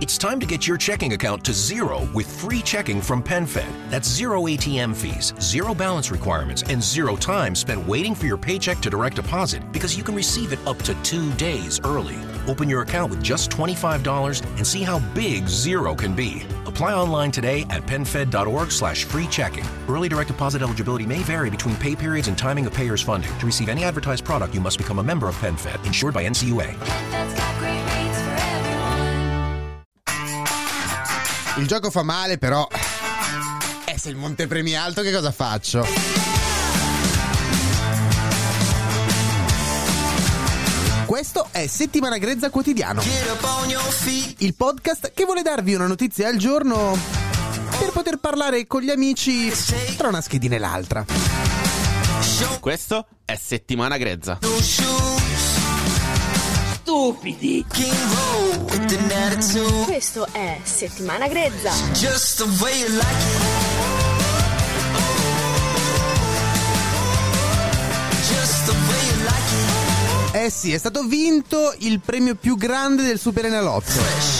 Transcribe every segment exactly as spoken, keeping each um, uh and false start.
It's time to get your checking account to zero with free checking from PenFed. That's zero A T M fees, zero balance requirements, and zero time spent waiting for your paycheck to direct deposit because you can receive it up to two days early. Open your account with just twenty-five dollars and see how big zero can be. Apply online today at PenFed.org slash free checking. Early direct deposit eligibility may vary between pay periods and timing of payers' funding. To receive any advertised product, you must become a member of PenFed, insured by N C U A. Il gioco fa male, però. Eh, se il montepremi è alto, che cosa faccio? Questo è Settimana Grezza Quotidiano, il podcast che vuole darvi una notizia al giorno per poter parlare con gli amici tra una schedina e l'altra. Questo è Settimana Grezza. Stupidi. Questo è Settimana Grezza. Eh sì, è stato vinto il premio più grande del Superenalotto.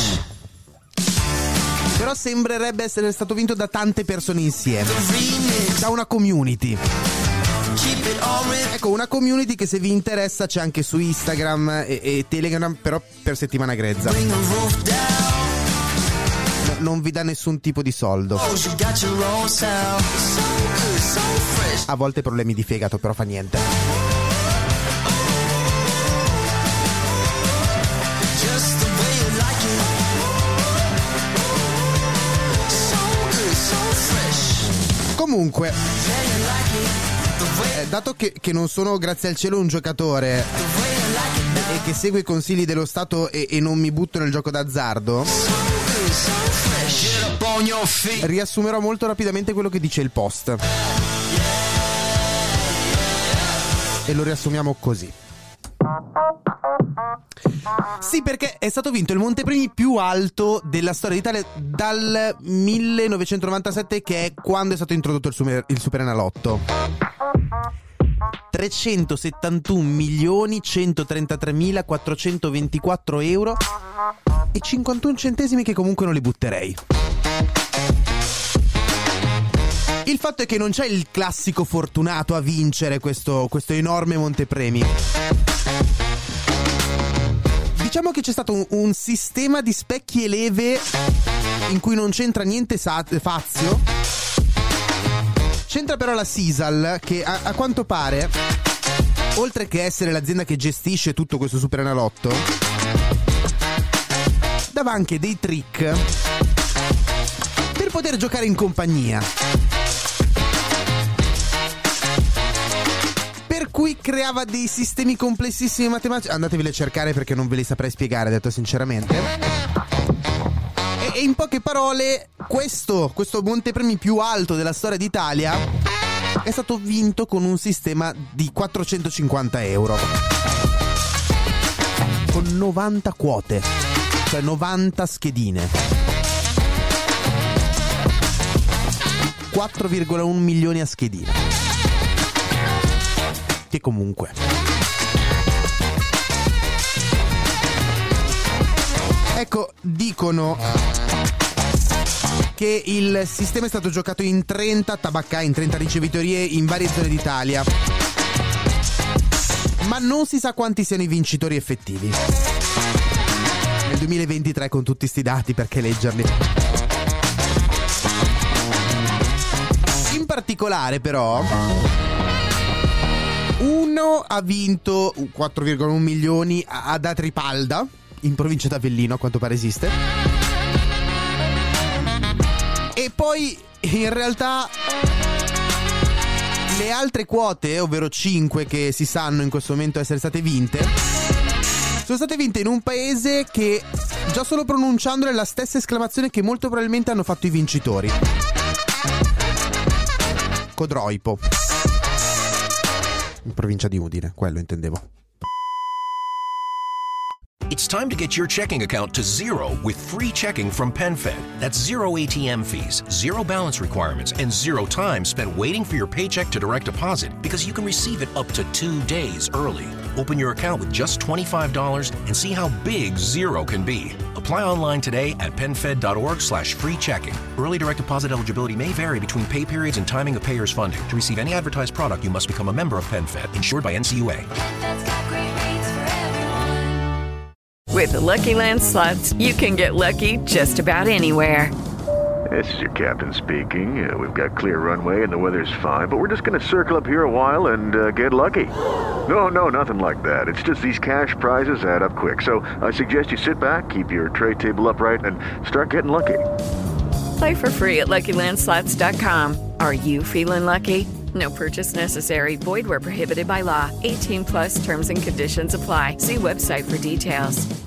Però sembrerebbe essere stato vinto da tante persone insieme, da una community. Ecco, una community che, se vi interessa, c'è anche su Instagram e, e Telegram, però per Settimana Grezza. No, non vi dà nessun tipo di soldo. A volte problemi di fegato, però fa niente. Comunque, eh, dato che, che non sono, grazie al cielo, un giocatore e che segue i consigli dello Stato e, e non mi butto nel gioco d'azzardo, riassumerò molto rapidamente quello che dice il post. E lo riassumiamo così. Sì, perché è stato vinto il montepremi più alto della storia d'Italia dal millenovecentonovantasette, che è quando è stato introdotto il, super, il Superenalotto. trecentosettantuno milioni centotrentatremilaquattrocentoventiquattro euro e cinquantuno centesimi, che comunque non li butterei. Il fatto è che non c'è il classico fortunato a vincere questo, questo enorme montepremi. Diciamo che c'è stato un, un sistema di specchi e leve in cui non c'entra niente sa- fazio. C'entra però la Sisal, che a, a quanto pare, oltre che essere l'azienda che gestisce tutto questo Superenalotto, dava anche dei trick per poter giocare in compagnia. Per cui creava dei sistemi complessissimi matematici. Andateveli a cercare, perché non ve li saprei spiegare, detto sinceramente. E, e in poche parole, questo, questo montepremi più alto della storia d'Italia è stato vinto con un sistema di quattrocentocinquanta euro, con novanta quote, cioè novanta schedine, quattro virgola uno milioni a schedina. Che comunque, ecco, dicono che il sistema è stato giocato in trenta tabaccai, in trenta ricevitorie in varie zone d'Italia, ma non si sa quanti siano i vincitori effettivi. Nel duemilaventitré, con tutti sti dati, perché leggerli? In particolare, però, uno ha vinto quattro virgola uno milioni ad Atripalda, in provincia d'Avellino, a quanto pare esiste. E poi, in realtà, le altre quote, ovvero cinque che si sanno in questo momento essere state vinte, sono state vinte in un paese che, già solo pronunciandole, è la stessa esclamazione che molto probabilmente hanno fatto i vincitori. Codroipo, in provincia di Udine, quello intendevo. It's time to get your checking account to zero with free checking from PenFed. That's zero A T M fees, zero balance requirements, and zero time spent waiting for your paycheck to direct deposit because you can receive it up to two days early. Open your account with just twenty-five dollars and see how big zero can be. Apply online today at PenFed.org slash free checking. Early direct deposit eligibility may vary between pay periods and timing of payers' funding. To receive any advertised product, you must become a member of PenFed, insured by N C U A. With the Lucky Land Slots, you can get lucky just about anywhere. This is your captain speaking. Uh, we've got clear runway and the weather's fine, but we're just going to circle up here a while and uh, get lucky. No, no, nothing like that. It's just these cash prizes add up quick. So I suggest you sit back, keep your tray table upright, and start getting lucky. Play for free at Lucky Land Slots dot com. Are you feeling lucky? No purchase necessary. Void where prohibited by law. eighteen plus terms and conditions apply. See website for details.